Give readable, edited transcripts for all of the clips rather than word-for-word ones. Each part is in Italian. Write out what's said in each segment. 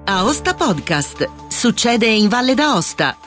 Aosta Podcast. Succede in Valle d'Aosta.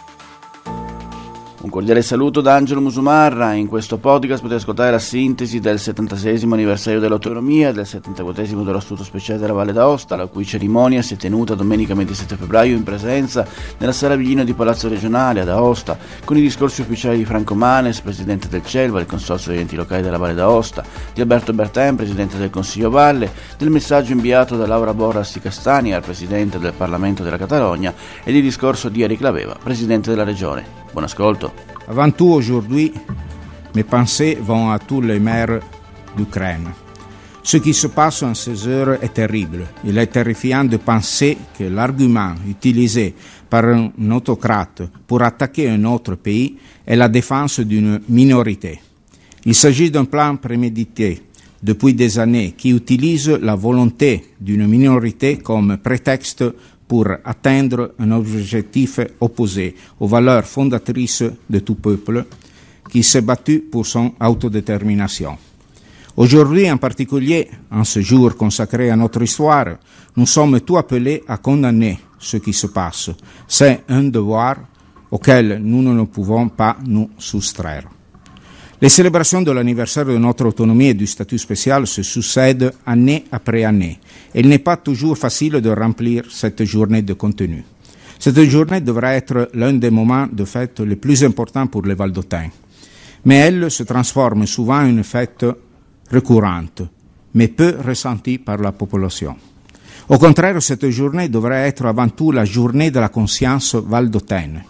Un cordiale saluto da Angelo Musumarra. In questo podcast potete ascoltare la sintesi del 76esimo anniversario dell'autonomia e del 74esimo dello Statuto Speciale della Valle d'Aosta, la cui cerimonia si è tenuta domenica 27 febbraio in presenza nella Sala Vigino di Palazzo Regionale ad Aosta, con i discorsi ufficiali di Franco Manes, presidente del CELVA, il Consorzio degli enti locali della Valle d'Aosta, di Alberto Bertin, presidente del Consiglio Valle, del messaggio inviato da Laura Borras di Castagna al presidente del Parlamento della Catalogna e di discorso di Eric Laveva, presidente della Regione. Buon ascolto. Avant tout, aujourd'hui, mes pensées vont à tous les maires d'Ukraine. Ce qui se passe en ces heures est terrible. Il est terrifiant de penser que l'argument utilisé par un autocrate pour attaquer un autre pays est la défense d'une minorité. Il s'agit d'un plan prémédité depuis des années qui utilise la volonté d'une minorité comme prétexte pour atteindre un objectif opposé aux valeurs fondatrices de tout peuple qui s'est battu pour son autodétermination. Aujourd'hui, en particulier, en ce jour consacré à notre histoire, nous sommes tous appelés à condamner ce qui se passe. C'est un devoir auquel nous ne pouvons pas nous soustraire. Les célébrations de l'anniversaire de notre autonomie et du statut spécial se succèdent année après année, et il n'est pas toujours facile de remplir cette journée de contenu. Cette journée devrait être l'un des moments de fête les plus importants pour les Valdôtains, mais elle se transforme souvent en une fête récurrente, mais peu ressentie par la population. Au contraire, cette journée devrait être avant tout la journée de la conscience valdôtaine,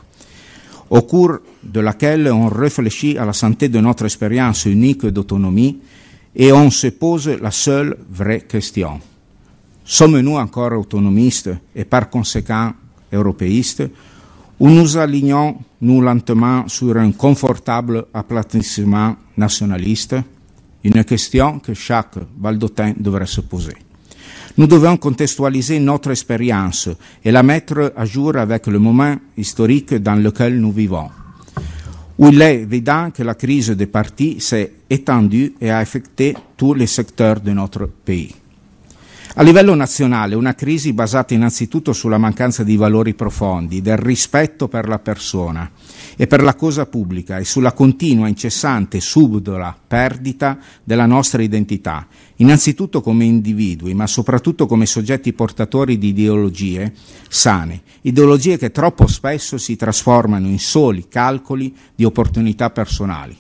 au cours de laquelle on réfléchit à la santé de notre expérience unique d'autonomie et on se pose la seule vraie question. Sommes-nous encore autonomistes et par conséquent européistes, ou nous alignons-nous lentement sur un confortable aplatissement nationaliste? Une question que chaque Valdôtain devrait se poser. Nous devons contextualiser notre expérience et la mettre à jour avec le moment historique dans lequel nous vivons, où il est évident que la crise des partis s'est étendue et a affecté tous les secteurs de notre pays. A livello nazionale, una crisi basata innanzitutto sulla mancanza di valori profondi, del rispetto per la persona e per la cosa pubblica e sulla continua, incessante, subdola perdita della nostra identità, innanzitutto come individui, ma soprattutto come soggetti portatori di ideologie sane, ideologie che troppo spesso si trasformano in soli calcoli di opportunità personali,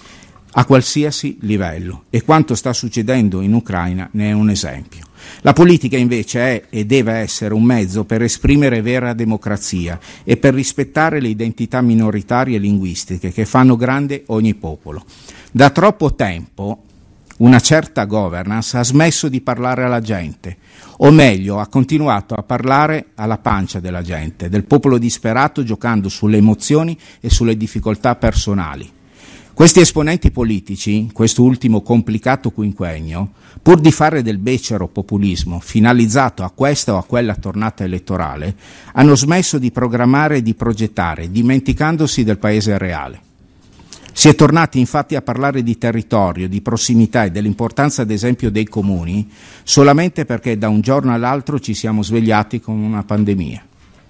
a qualsiasi livello, e quanto sta succedendo in Ucraina ne è un esempio. La politica invece è e deve essere un mezzo per esprimere vera democrazia e per rispettare le identità minoritarie e linguistiche che fanno grande ogni popolo. Da troppo tempo una certa governance ha smesso di parlare alla gente, o meglio ha continuato a parlare alla pancia della gente, del popolo disperato, giocando sulle emozioni e sulle difficoltà personali. Questi esponenti politici, in questo ultimo complicato quinquennio, pur di fare del becero populismo finalizzato a questa o a quella tornata elettorale, hanno smesso di programmare e di progettare, dimenticandosi del paese reale. Si è tornati infatti a parlare di territorio, di prossimità e dell'importanza ad esempio dei comuni, solamente perché da un giorno all'altro ci siamo svegliati con una pandemia.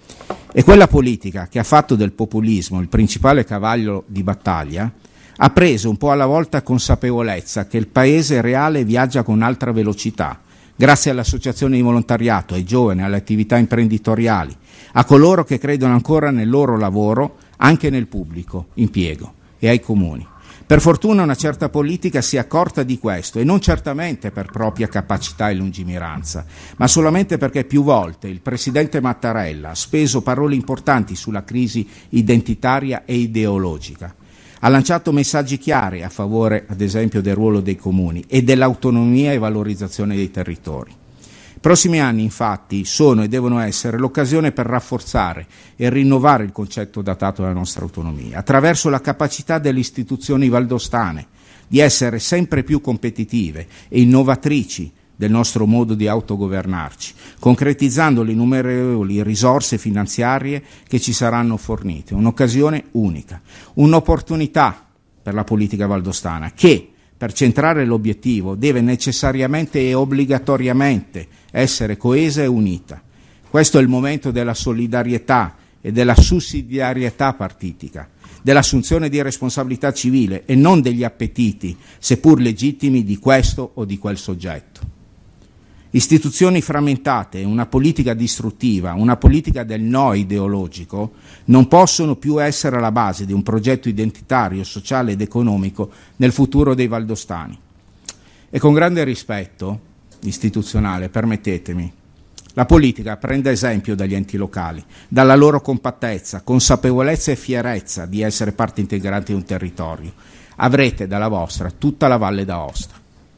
E quella politica che ha fatto del populismo il principale cavallo di battaglia ha preso un po' alla volta consapevolezza che il paese reale viaggia con altra velocità, grazie alle associazioni di volontariato, ai giovani, alle attività imprenditoriali, a coloro che credono ancora nel loro lavoro, anche nel pubblico impiego, e ai comuni. Per fortuna una certa politica si è accorta di questo, e non certamente per propria capacità e lungimiranza, ma solamente perché più volte il presidente Mattarella ha speso parole importanti sulla crisi identitaria e ideologica. Ha lanciato messaggi chiari a favore, ad esempio, del ruolo dei comuni e dell'autonomia e valorizzazione dei territori. I prossimi anni, infatti, sono e devono essere l'occasione per rafforzare e rinnovare il concetto datato della nostra autonomia, attraverso la capacità delle istituzioni valdostane di essere sempre più competitive e innovatrici del nostro modo di autogovernarci, concretizzando le innumerevoli risorse finanziarie che ci saranno fornite. Un'occasione unica, un'opportunità per la politica valdostana che, per centrare l'obiettivo, deve necessariamente e obbligatoriamente essere coesa e unita. Questo è il momento della solidarietà e della sussidiarietà partitica, dell'assunzione di responsabilità civile e non degli appetiti, seppur legittimi, di questo o di quel soggetto. Istituzioni frammentate e una politica distruttiva, una politica del no ideologico, non possono più essere alla base di un progetto identitario, sociale ed economico nel futuro dei valdostani. E con grande rispetto istituzionale, permettetemi, la politica prenda esempio dagli enti locali, dalla loro compattezza, consapevolezza e fierezza di essere parte integrante di un territorio. Avrete dalla vostra tutta la Valle d'Aosta.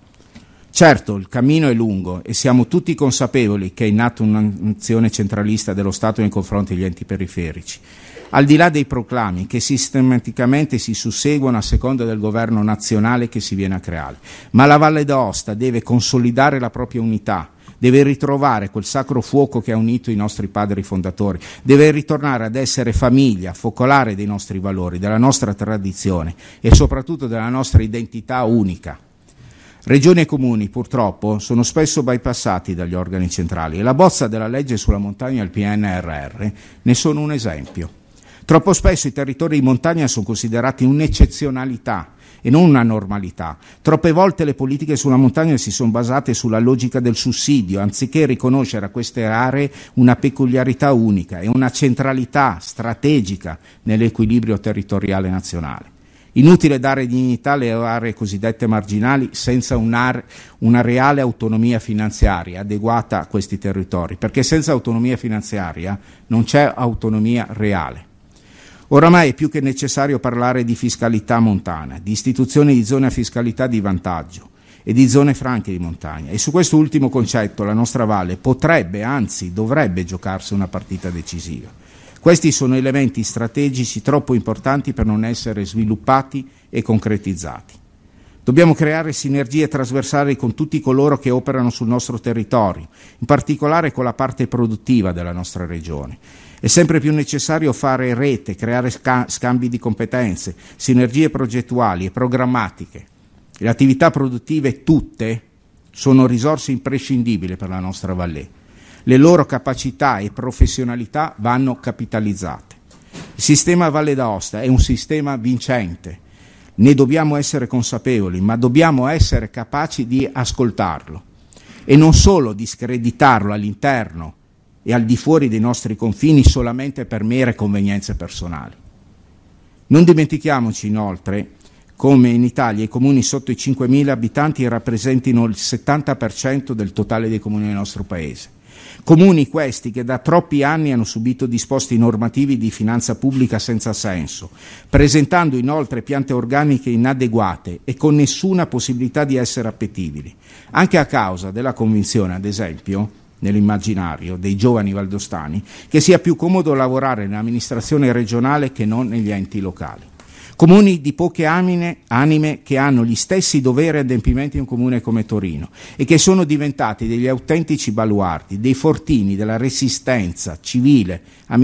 Certo, il cammino è lungo e siamo tutti consapevoli che è in atto un'azione centralista dello Stato nei confronti degli enti periferici. Al di là dei proclami che sistematicamente si susseguono a seconda del governo nazionale che si viene a creare, ma la Valle d'Aosta deve consolidare la propria unità, deve ritrovare quel sacro fuoco che ha unito i nostri padri fondatori, deve ritornare ad essere famiglia, focolare dei nostri valori, della nostra tradizione e soprattutto della nostra identità unica. Regioni e comuni, purtroppo, sono spesso bypassati dagli organi centrali e la bozza della legge sulla montagna e il PNRR ne sono un esempio. Troppo spesso i territori di montagna sono considerati un'eccezionalità e non una normalità. Troppe volte le politiche sulla montagna si sono basate sulla logica del sussidio, anziché riconoscere a queste aree una peculiarità unica e una centralità strategica nell'equilibrio territoriale nazionale. Inutile dare dignità alle aree cosiddette marginali senza una reale autonomia finanziaria adeguata a questi territori, perché senza autonomia finanziaria non c'è autonomia reale. Oramai è più che necessario parlare di fiscalità montana, di istituzioni di zone a fiscalità di vantaggio e di zone franche di montagna. E su questo ultimo concetto la nostra Valle potrebbe, anzi dovrebbe giocarsi una partita decisiva. Questi sono elementi strategici troppo importanti per non essere sviluppati e concretizzati. Dobbiamo creare sinergie trasversali con tutti coloro che operano sul nostro territorio, in particolare con la parte produttiva della nostra regione. È sempre più necessario fare rete, creare scambi di competenze, sinergie progettuali e programmatiche. Le attività produttive tutte sono risorse imprescindibili per la nostra Valle. Le loro capacità e professionalità vanno capitalizzate. Il sistema Valle d'Aosta è un sistema vincente, ne dobbiamo essere consapevoli, ma dobbiamo essere capaci di ascoltarlo e non solo di screditarlo all'interno e al di fuori dei nostri confini solamente per mere convenienze personali. Non dimentichiamoci inoltre come in Italia i comuni sotto i 5.000 abitanti rappresentino il 70% del totale dei comuni del nostro Paese. Comuni questi che da troppi anni hanno subito disposti normativi di finanza pubblica senza senso, presentando inoltre piante organiche inadeguate e con nessuna possibilità di essere appetibili, anche a causa della convinzione, ad esempio, nell'immaginario dei giovani valdostani, che sia più comodo lavorare nell'amministrazione regionale che non negli enti locali. Comuni di poche anime che hanno gli stessi doveri e adempimenti di un comune come Torino e che sono diventati degli autentici baluardi, dei fortini della resistenza civile,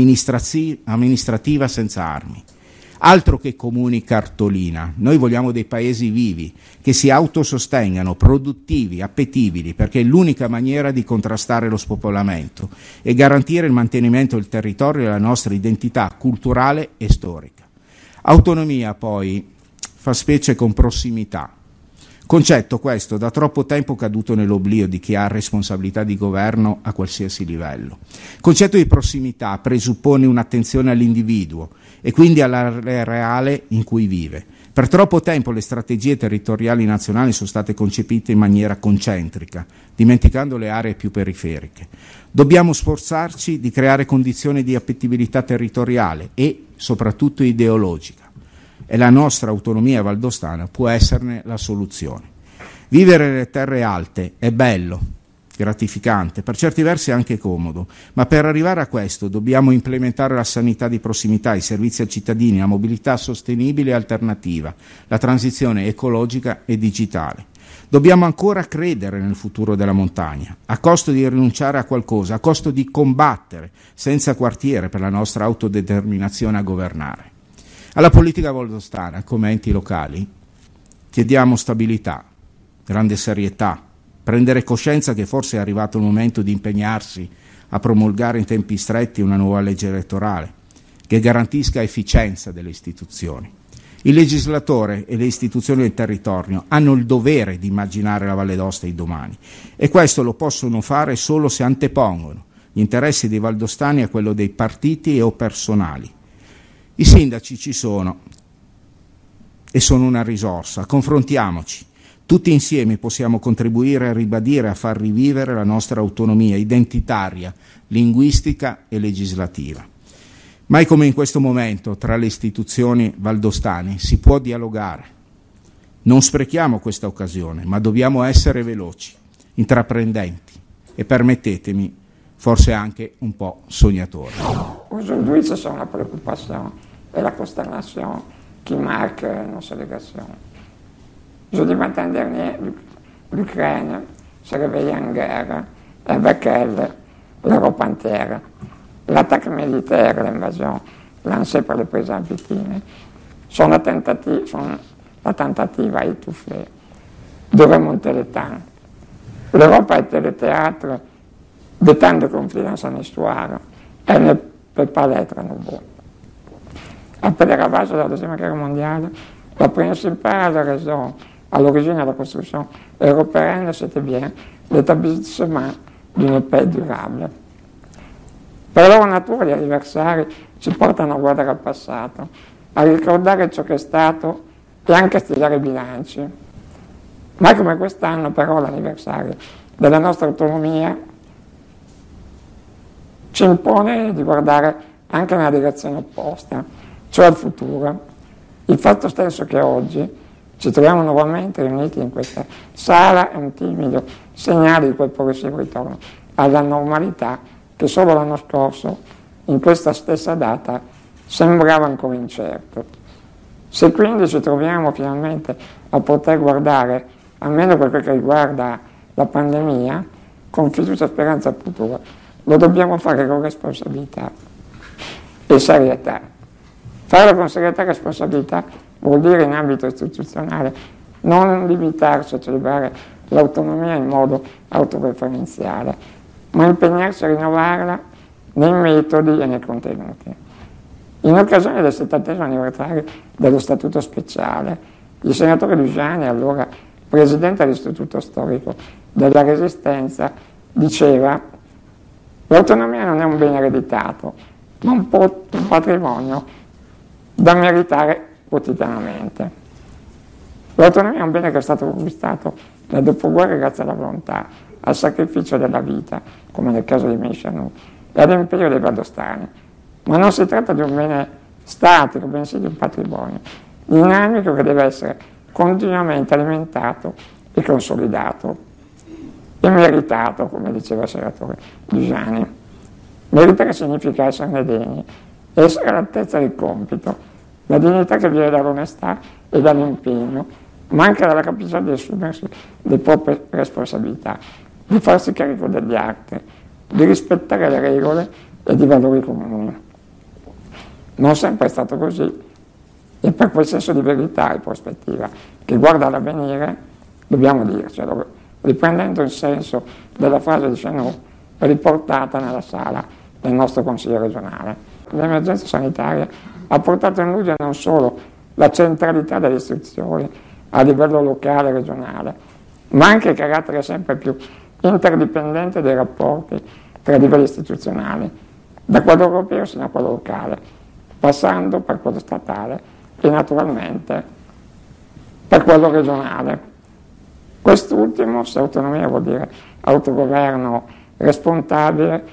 amministrativa senza armi. Altro che comuni cartolina, noi vogliamo dei paesi vivi, che si autosostengano, produttivi, appetibili, perché è l'unica maniera di contrastare lo spopolamento e garantire il mantenimento del territorio e della nostra identità culturale e storica. Autonomia poi fa specie con prossimità, concetto questo da troppo tempo caduto nell'oblio di chi ha responsabilità di governo a qualsiasi livello. Il concetto di prossimità presuppone un'attenzione all'individuo e quindi all'area reale in cui vive. Per troppo tempo le strategie territoriali nazionali sono state concepite in maniera concentrica, dimenticando le aree più periferiche. Dobbiamo sforzarci di creare condizioni di appetibilità territoriale e soprattutto ideologica, e la nostra autonomia valdostana può esserne la soluzione. Vivere nelle terre alte è bello, gratificante, per certi versi anche comodo, ma per arrivare a questo dobbiamo implementare la sanità di prossimità, i servizi ai cittadini, la mobilità sostenibile e alternativa, la transizione ecologica e digitale. Dobbiamo ancora credere nel futuro della montagna, a costo di rinunciare a qualcosa, a costo di combattere senza quartiere per la nostra autodeterminazione a governare. Alla politica valdostana, come enti locali, chiediamo stabilità, grande serietà, prendere coscienza che forse è arrivato il momento di impegnarsi a promulgare in tempi stretti una nuova legge elettorale che garantisca efficienza delle istituzioni. Il legislatore e le istituzioni del territorio hanno il dovere di immaginare la Valle d'Aosta di domani e questo lo possono fare solo se antepongono gli interessi dei valdostani a quello dei partiti o personali. I sindaci ci sono e sono una risorsa, confrontiamoci. Tutti insieme possiamo contribuire a ribadire, a far rivivere la nostra autonomia identitaria, linguistica e legislativa. Mai come in questo momento tra le istituzioni valdostane si può dialogare. Non sprechiamo questa occasione, ma dobbiamo essere veloci, intraprendenti e, permettetemi, forse anche un po' sognatori. Aujourd'hui, ce sont la préoccupation et la consternation qui marquent nos célébrations. Jeudi matin dernier, l'Ukraine s'est réveillée en guerre, et avec elle, l'Europe entière. L'attaque militaire, l'invasion lancée par le président Poutine, sont la tentative à étouffer, de remonter le temps. L'Europe a été le théâtre de tant de conflits dans son histoire. Elle ne peut pas l'être à nouveau. Après les ravages de la Deuxième Guerre mondiale, la principale raison à l'origine de la construction européenne, c'était bien l'établissement d'une paix durable. Per loro natura gli anniversari ci portano a guardare al passato, a ricordare ciò che è stato e anche a studiare i bilanci. Mai come quest'anno però l'anniversario della nostra autonomia ci impone di guardare anche nella direzione opposta, cioè al futuro. Il fatto stesso che oggi ci troviamo nuovamente riuniti in questa sala è un timido segnale di quel progressivo ritorno alla normalità che solo l'anno scorso, in questa stessa data, sembrava ancora incerto. Se quindi ci troviamo finalmente a poter guardare, almeno per quel che riguarda la pandemia, con fiducia e speranza al futuro, lo dobbiamo fare con responsabilità e serietà. Farlo con serietà e responsabilità vuol dire in ambito istituzionale non limitarsi a celebrare l'autonomia in modo autoreferenziale, ma impegnarsi a rinnovarla nei metodi e nei contenuti. In occasione del 70° anniversario dello Statuto Speciale, il senatore Luciani, allora presidente dell'Istituto Storico della Resistenza, diceva: l'autonomia non è un bene ereditato, ma un patrimonio da meritare quotidianamente. L'autonomia è un bene che è stato conquistato nel dopoguerra grazie alla volontà, al sacrificio della vita, come nel caso di Mescianu, e all'imperio dei valdostani. Ma non si tratta di un bene statico, bensì di un patrimonio dinamico che deve essere continuamente alimentato e consolidato e meritato, come diceva il senatore Luciani. Meritare significa esserne degni, essere all'altezza del compito, la dignità che viene dall'onestà e dall'impegno, ma anche dalla capacità di assumersi le proprie responsabilità, di farsi carico degli atti, di rispettare le regole e i valori comuni. Non sempre è stato così, e per quel senso di verità e prospettiva che guarda all'avvenire dobbiamo dircelo, riprendendo il senso della frase di Chenou riportata nella sala del nostro Consiglio regionale. L'emergenza sanitaria ha portato in luce non solo la centralità delle istituzioni a livello locale e regionale, ma anche il carattere sempre più interdipendente dei rapporti tra i livelli istituzionali, da quello europeo sino a quello locale, passando per quello statale e naturalmente per quello regionale. Quest'ultimo, se autonomia vuol dire autogoverno responsabile,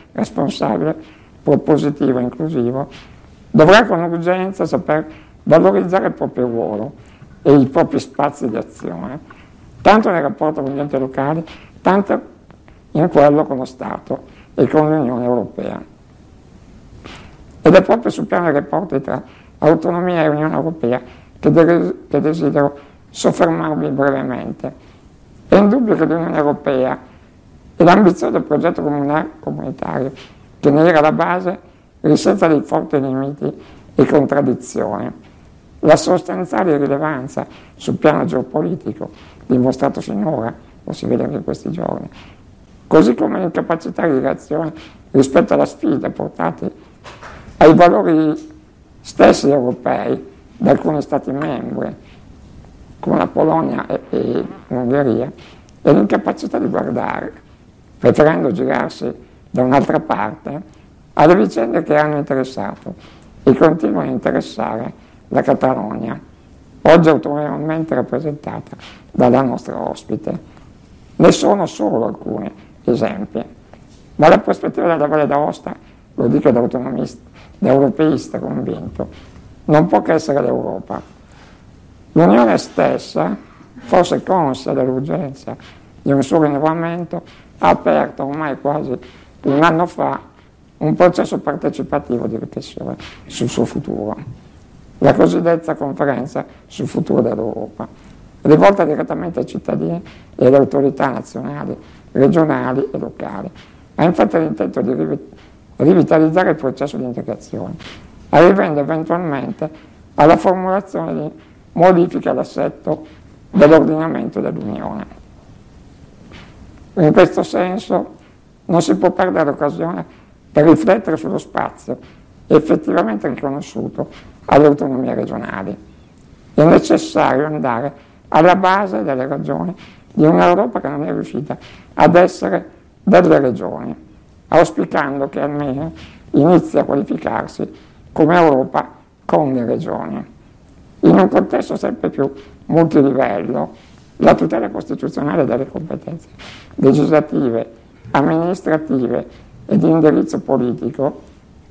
propositivo e inclusivo, dovrà con urgenza saper valorizzare il proprio ruolo e i propri spazi di azione, tanto nel rapporto con gli enti locali, tanto in quello con lo Stato e con l'Unione Europea. Ed è proprio sul piano dei rapporti tra autonomia e Unione Europea che desidero soffermarmi brevemente. È indubbio che l'Unione Europea e l'ambizioso progetto comunitario che ne era la base risenta dei forti limiti e contraddizioni. La sostanziale rilevanza sul piano geopolitico dimostrato finora, lo si vede anche in questi giorni, così come l'incapacità di reazione rispetto alla sfida portate ai valori stessi europei da alcuni Stati membri, come la Polonia e l'Ungheria, e l'incapacità di guardare, preferendo girarsi da un'altra parte, alle vicende che hanno interessato e continuano a interessare la Catalogna, oggi autorevolmente rappresentata dalla nostra ospite. Ne sono solo alcuni esempi, ma la prospettiva della Valle d'Aosta, lo dico da europeista convinto, non può che essere l'Europa. L'Unione stessa, forse conscia dell'urgenza di un suo rinnovamento, ha aperto ormai quasi un anno fa un processo partecipativo di riflessione sul suo futuro, la cosiddetta conferenza sul futuro dell'Europa, rivolta direttamente ai cittadini e alle autorità nazionali, regionali e locali. Ha infatti l'intento di rivitalizzare il processo di integrazione, arrivando eventualmente alla formulazione di modifiche all'assetto dell'ordinamento dell'Unione. In questo senso non si può perdere l'occasione per riflettere sullo spazio effettivamente riconosciuto alle autonomie regionali. È necessario andare alla base delle ragioni di un'Europa che non è riuscita ad essere delle regioni, auspicando che almeno inizi a qualificarsi come Europa con le regioni. In un contesto sempre più multilivello, la tutela costituzionale delle competenze legislative, amministrative e di indirizzo politico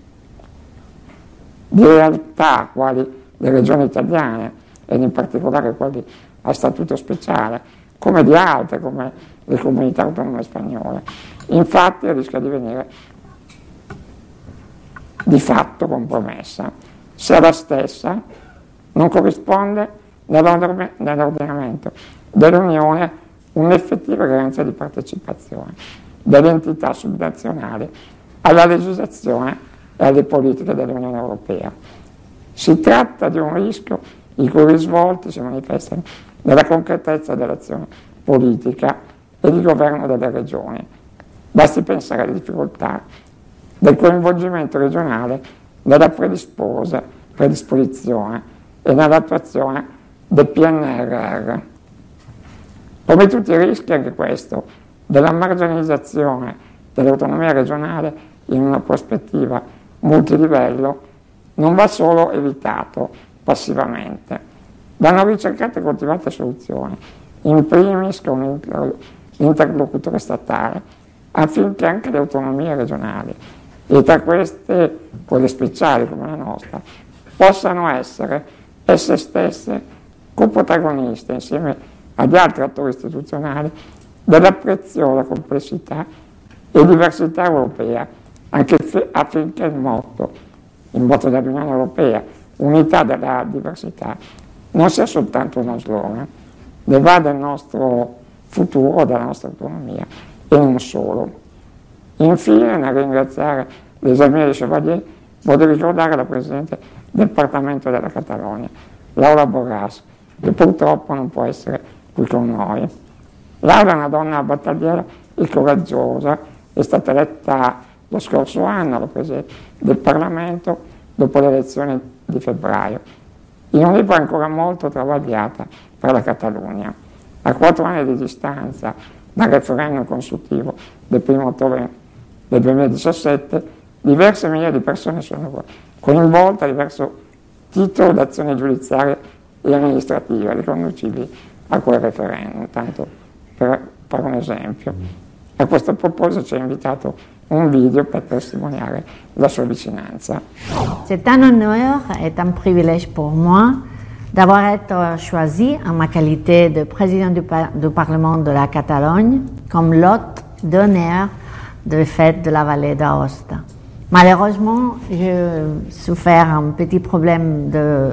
di realtà quali le regioni italiane ed in particolare quelli a statuto speciale, come di altre, come le comunità autonome spagnole, infatti rischia di venire di fatto compromessa se la stessa non corrisponde nell'ordinamento dell'Unione un'effettiva garanzia di partecipazione delle entità subnazionali alla legislazione e alle politiche dell'Unione Europea. Si tratta di un rischio i cui risvolti si manifestano nella concretezza dell'azione politica e di governo delle regioni. Basti pensare alle difficoltà del coinvolgimento regionale nella predisposizione e nell'attuazione del PNRR. Come tutti i rischi, anche questo, della marginalizzazione dell'autonomia regionale in una prospettiva multilivello, non va solo evitato passivamente, vanno ricercate e coltivate soluzioni, in primis con l'interlocutore statale, affinché anche le autonomie regionali, e tra queste quelle speciali come la nostra, possano essere esse stesse coprotagoniste insieme agli altri attori istituzionali della preziosa complessità e diversità europea, anche affinché il motto dell'Unione Europea, unità della diversità, non sia soltanto uno slogan, ne va del nostro futuro, della nostra autonomia e non solo. Infine, nel ringraziare l'esamine di Chevalier, voglio ricordare la Presidente del Parlamento della Catalogna, Laura Borràs, che purtroppo non può essere qui con noi. Laura è una donna battagliera e coraggiosa, è stata eletta lo scorso anno alla Presidente del Parlamento dopo le elezioni di febbraio, in un'epoca ancora molto travagliata per la Catalogna. A 4 anni di distanza dal referendum consultivo del 1 ottobre del 2017, diverse migliaia di persone sono coinvolte a diverso titolo d'azioni giudiziarie e amministrative riconducibili a quel referendum, tanto per fare un esempio. A questo proposito ci ha invitato un video per testimoniare la sua vicinanza. C'est un honneur et un privilège pour moi d'avoir été choisi en ma qualité de président du Parlement de la Catalogne comme l'hôte d'honneur de fête de la Vallée d'Aosta. Malheureusement, j'ai souffert un petit problème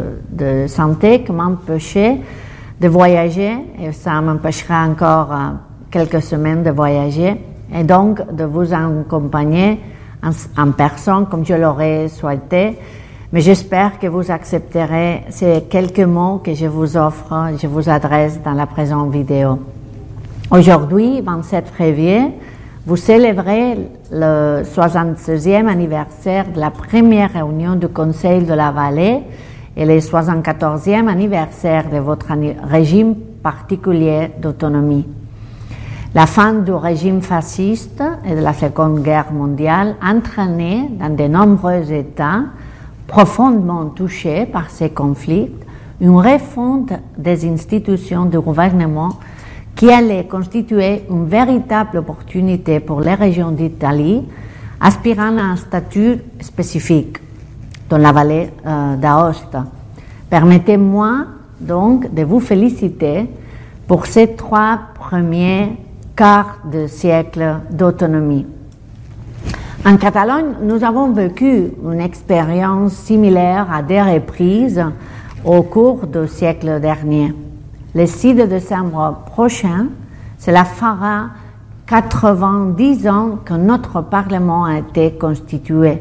de santé qui m'empêchait de voyager et ça m'empêchera encore quelques semaines de voyager et donc de vous accompagner en personne comme je l'aurais souhaité. Mais j'espère que vous accepterez ces quelques mots que je vous offre, je vous adresse dans la présente vidéo. Aujourd'hui, 27 février, vous célébrez le 76e anniversaire de la première réunion du Conseil de la Vallée et le 74e anniversaire de votre régime particulier d'autonomie. La fin du régime fasciste et de la Seconde Guerre mondiale a entraîné dans de nombreux États profondément touchés par ces conflits une refonte des institutions du gouvernement qui allait constituer une véritable opportunité pour les régions d'Italie aspirant à un statut spécifique dans la vallée d'Aosta. Permettez-moi donc de vous féliciter pour ces 3 premiers quarts de siècle d'autonomie. En Catalogne, nous avons vécu une expérience similaire à des reprises au cours du siècle dernier. Le 6 décembre prochain, cela fera 90 ans que notre Parlement a été constitué.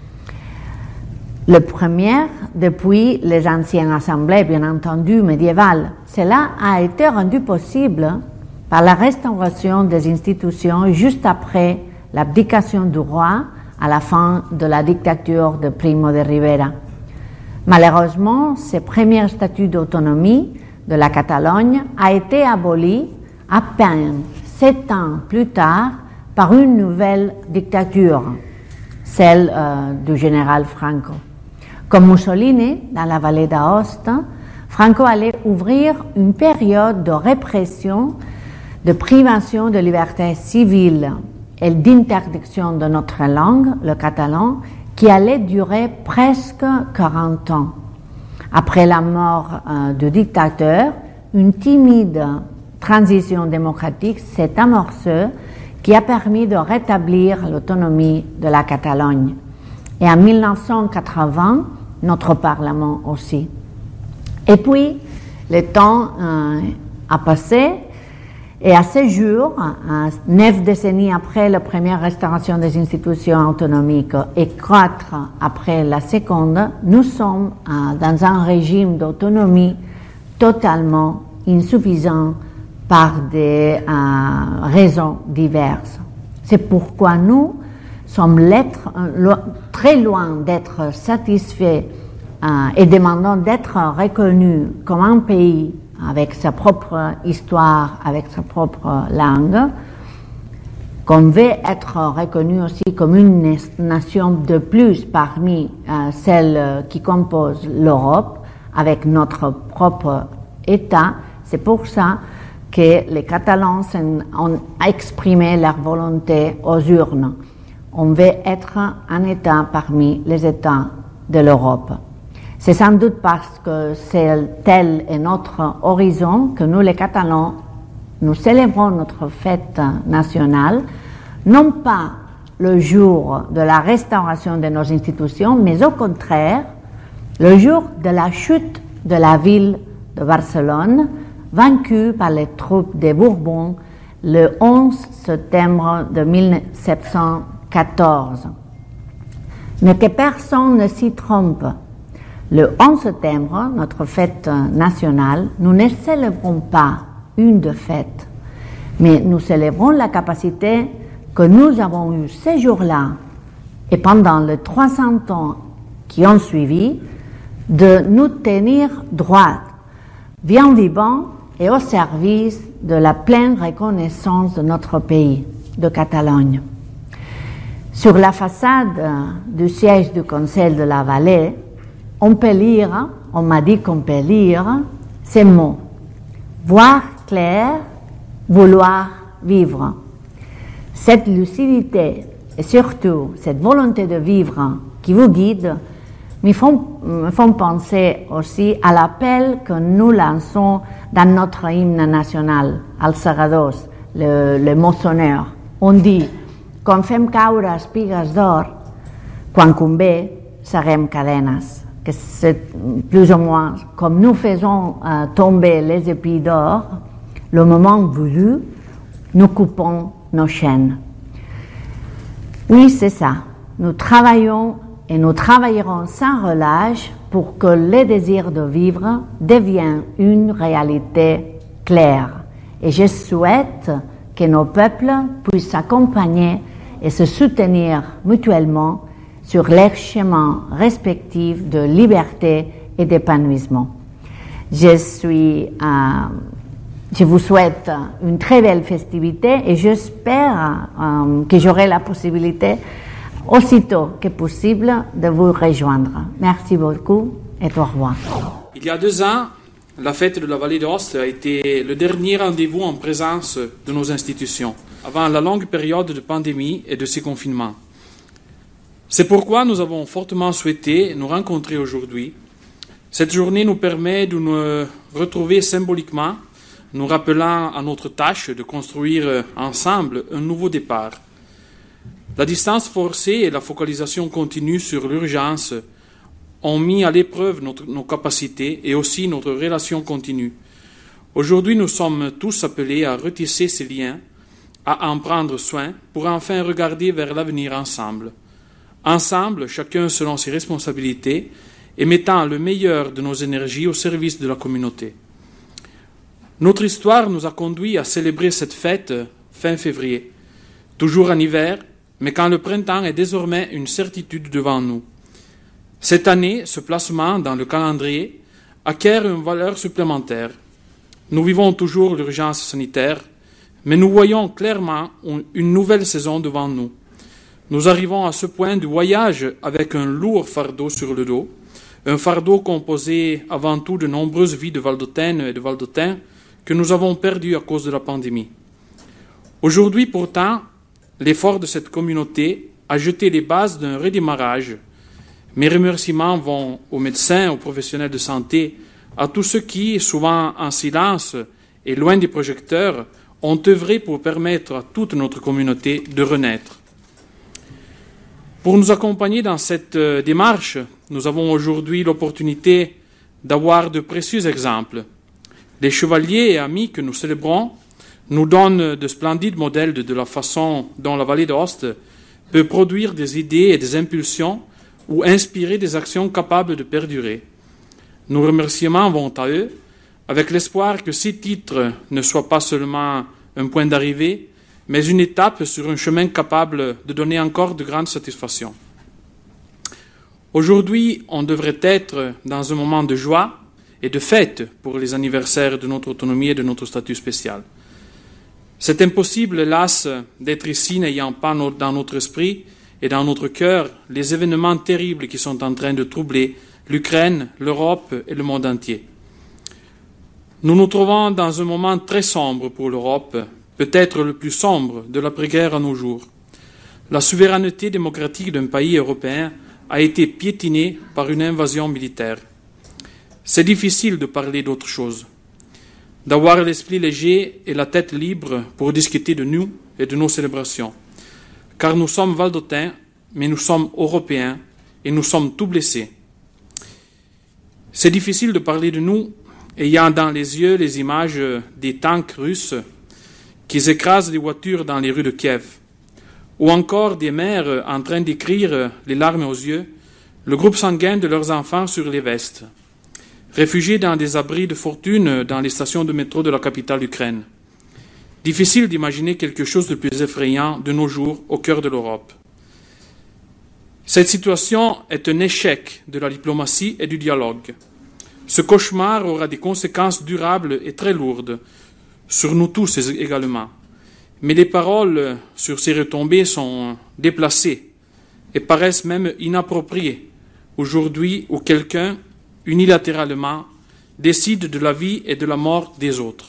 Le premier depuis les anciennes assemblées, bien entendu, médiévales. Cela a été rendu possible par la restauration des institutions juste après l'abdication du roi à la fin de la dictature de Primo de Rivera. Malheureusement, ce premier statut d'autonomie de la Catalogne a été aboli à peine 7 ans plus tard par une nouvelle dictature, celle du général Franco. Comme Mussolini, dans la vallée d'Aosta, Franco allait ouvrir une période de répression, de privation de liberté civile et d'interdiction de notre langue, le catalan, qui allait durer presque 40 ans. Après la mort du dictateur, une timide transition démocratique s'est amorcée qui a permis de rétablir l'autonomie de la Catalogne. Et en 1980, notre Parlement aussi. Et puis, le temps a passé, et à ce jour, 9 décennies après la première restauration des institutions autonomiques et 4 après la seconde, nous sommes dans un régime d'autonomie totalement insuffisant par des raisons diverses. C'est pourquoi nous sommes très loin d'être satisfaits et demandons d'être reconnus comme un pays avec sa propre histoire, avec sa propre langue, qu'on veut être reconnu aussi comme une nation de plus parmi celles qui composent l'Europe, avec notre propre État. C'est pour ça que les Catalans ont exprimé leur volonté aux urnes. On veut être un État parmi les États de l'Europe. C'est sans doute parce que tel est notre horizon que nous, les Catalans, nous célébrons notre fête nationale, non pas le jour de la restauration de nos institutions, mais au contraire, le jour de la chute de la ville de Barcelone, vaincue par les troupes des Bourbons le 11 septembre de 1714. Mais que personne ne s'y trompe. Le 11 septembre, notre fête nationale, nous ne célébrons pas une défaite, mais nous célébrons la capacité que nous avons eue ces jours-là et pendant les 300 ans qui ont suivi, de nous tenir droit, bien vivants et au service de la pleine reconnaissance de notre pays, de Catalogne. Sur la façade du siège du Conseil de la Vallée, on m'a dit qu'on peut lire ces mots. Voir clair, vouloir vivre. Cette lucidité et surtout cette volonté de vivre qui vous guide me font penser aussi à l'appel que nous lançons dans notre hymne national, al Segadors, le moissonneur. On dit, quan fem caure espigues d'or, quan convé, serem cadenes. Que c'est plus ou moins comme nous faisons tomber les épis d'or, le moment voulu, nous coupons nos chaînes. Oui, c'est ça. Nous travaillons et nous travaillerons sans relâche pour que le désir de vivre devienne une réalité claire. Et je souhaite que nos peuples puissent s'accompagner et se soutenir mutuellement sur leurs chemins respectifs de liberté et d'épanouissement. Je vous souhaite une très belle festivité et j'espère que j'aurai la possibilité, aussitôt que possible, de vous rejoindre. Merci beaucoup et au revoir. Il y a 2 ans, la fête de la Vallée d'Aoste a été le dernier rendez-vous en présence de nos institutions, avant la longue période de pandémie et de ces confinements. C'est pourquoi nous avons fortement souhaité nous rencontrer aujourd'hui. Cette journée nous permet de nous retrouver symboliquement, nous rappelant à notre tâche de construire ensemble un nouveau départ. La distance forcée et la focalisation continue sur l'urgence ont mis à l'épreuve nos capacités et aussi notre relation continue. Aujourd'hui, nous sommes tous appelés à retisser ces liens, à en prendre soin pour enfin regarder vers l'avenir ensemble. Ensemble, chacun selon ses responsabilités et mettant le meilleur de nos énergies au service de la communauté. Notre histoire nous a conduits à célébrer cette fête fin février, toujours en hiver, mais quand le printemps est désormais une certitude devant nous. Cette année, ce placement dans le calendrier acquiert une valeur supplémentaire. Nous vivons toujours l'urgence sanitaire, mais nous voyons clairement une nouvelle saison devant nous. Nous arrivons à ce point du voyage avec un lourd fardeau sur le dos, un fardeau composé avant tout de nombreuses vies de Valdôtaines et de Valdôtains que nous avons perdues à cause de la pandémie. Aujourd'hui, pourtant, l'effort de cette communauté a jeté les bases d'un redémarrage. Mes remerciements vont aux médecins, aux professionnels de santé, à tous ceux qui, souvent en silence et loin des projecteurs, ont œuvré pour permettre à toute notre communauté de renaître. Pour nous accompagner dans cette démarche, nous avons aujourd'hui l'opportunité d'avoir de précieux exemples. Les chevaliers et amis que nous célébrons nous donnent de splendides modèles de la façon dont la Vallée d'Aoste peut produire des idées et des impulsions ou inspirer des actions capables de perdurer. Nos remerciements vont à eux, avec l'espoir que ces titres ne soient pas seulement un point d'arrivée, mais une étape sur un chemin capable de donner encore de grandes satisfactions. Aujourd'hui, on devrait être dans un moment de joie et de fête pour les anniversaires de notre autonomie et de notre statut spécial. C'est impossible, hélas, d'être ici n'ayant pas dans notre esprit et dans notre cœur les événements terribles qui sont en train de troubler l'Ukraine, l'Europe et le monde entier. Nous nous trouvons dans un moment très sombre pour l'Europe, peut-être le plus sombre de l'après-guerre à nos jours. La souveraineté démocratique d'un pays européen a été piétinée par une invasion militaire. C'est difficile de parler d'autre chose, d'avoir l'esprit léger et la tête libre pour discuter de nous et de nos célébrations. Car nous sommes Valdôtains, mais nous sommes Européens et nous sommes tout blessés. C'est difficile de parler de nous ayant dans les yeux les images des tanks russes qui écrasent les voitures dans les rues de Kiev, ou encore des mères en train d'écrire, les larmes aux yeux, le groupe sanguin de leurs enfants sur les vestes, réfugiés dans des abris de fortune dans les stations de métro de la capitale d'Ukraine. Difficile d'imaginer quelque chose de plus effrayant de nos jours au cœur de l'Europe. Cette situation est un échec de la diplomatie et du dialogue. Ce cauchemar aura des conséquences durables et très lourdes, sur nous tous également. Mais les paroles sur ces retombées sont déplacées et paraissent même inappropriées aujourd'hui où quelqu'un, unilatéralement, décide de la vie et de la mort des autres.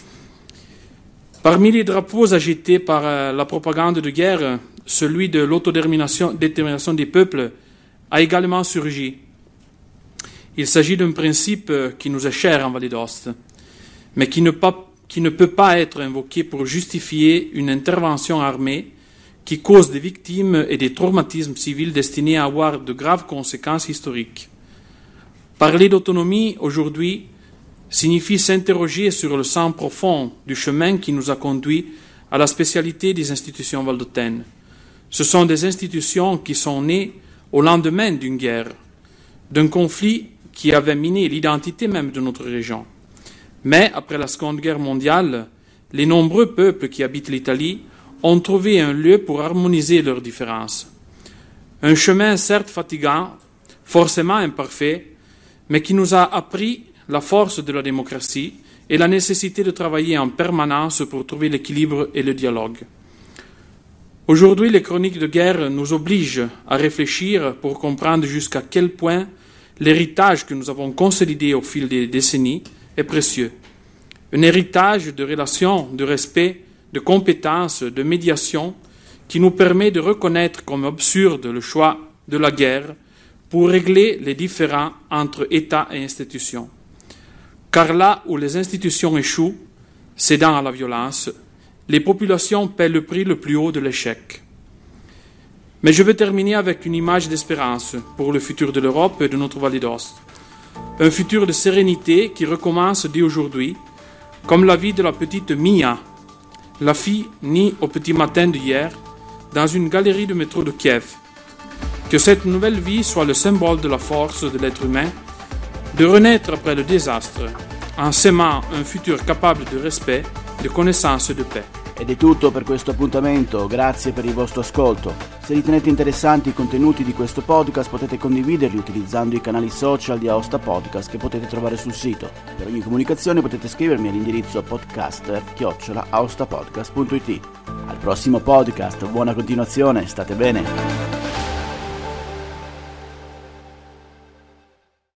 Parmi les drapeaux agités par la propagande de guerre, celui de l'autodétermination des peuples a également surgi. Il s'agit d'un principe qui nous est cher en Vallée d'Aoste, mais qui ne peut pas être invoqué pour justifier une intervention armée qui cause des victimes et des traumatismes civils destinés à avoir de graves conséquences historiques. Parler d'autonomie aujourd'hui signifie s'interroger sur le sens profond du chemin qui nous a conduits à la spécialité des institutions valdôtaines. Ce sont des institutions qui sont nées au lendemain d'une guerre, d'un conflit qui avait miné l'identité même de notre région. Mais après la Seconde Guerre mondiale, les nombreux peuples qui habitent l'Italie ont trouvé un lieu pour harmoniser leurs différences. Un chemin certes fatigant, forcément imparfait, mais qui nous a appris la force de la démocratie et la nécessité de travailler en permanence pour trouver l'équilibre et le dialogue. Aujourd'hui, les chroniques de guerre nous obligent à réfléchir pour comprendre jusqu'à quel point l'héritage que nous avons consolidé au fil des décennies est précieux. Un héritage de relations, de respect, de compétences, de médiation qui nous permet de reconnaître comme absurde le choix de la guerre pour régler les différends entre États et institutions. Car là où les institutions échouent, cédant à la violence, les populations paient le prix le plus haut de l'échec. Mais je veux terminer avec une image d'espérance pour le futur de l'Europe et de notre vallée d'Aoste. Un futur de sérénité qui recommence dès aujourd'hui, comme la vie de la petite Mia, la fille née au petit matin d'hier, dans une galerie de métro de Kiev. Que cette nouvelle vie soit le symbole de la force de l'être humain, de renaître après le désastre, en s'aimant un futur capable de respect, di connaissanza e di paix. Ed è tutto per questo appuntamento, grazie per il vostro ascolto. Se ritenete interessanti i contenuti di questo podcast potete condividerli utilizzando i canali social di Aosta Podcast che potete trovare sul sito. Per ogni comunicazione potete scrivermi all'indirizzo podcaster@aostapodcast.it. Al prossimo podcast, buona continuazione, state bene!